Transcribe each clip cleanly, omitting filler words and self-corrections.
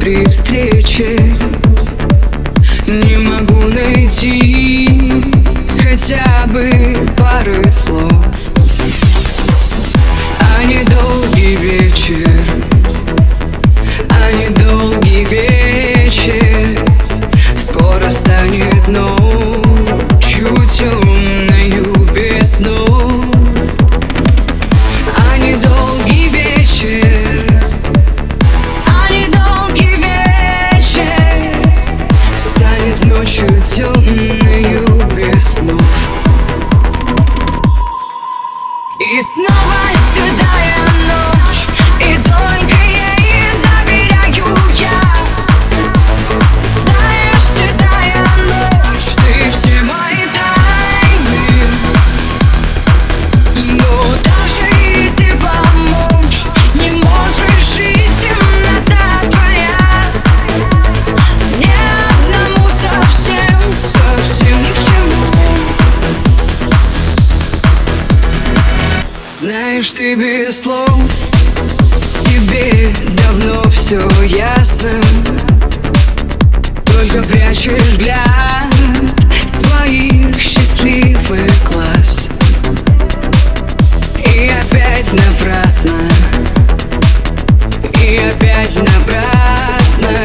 при встрече не могу найти хотя бы пары слов. А недолгий вечер, а недолгий вечер скоро станет ночью темною без снов. А недолгий вечер, а недолгий вечер станет ночью темною без снов. И снова седая ночь, и только ей доверяю я. Знаешь, седая ночь, ты все мои тайны, но даже и ты помочь не можешь, жить темнота твоя мне одному совсем, совсем ни к чему. Знаешь, ты без слов, тебе давно все ясно, только прячешь взгляд своих счастливых глаз. И опять напрасно, и опять напрасно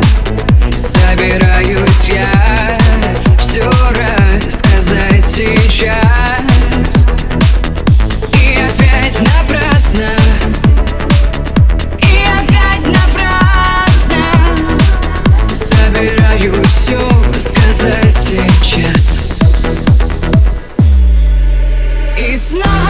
собираюсь я все рассказать сейчас. Все сказать сейчас. И снова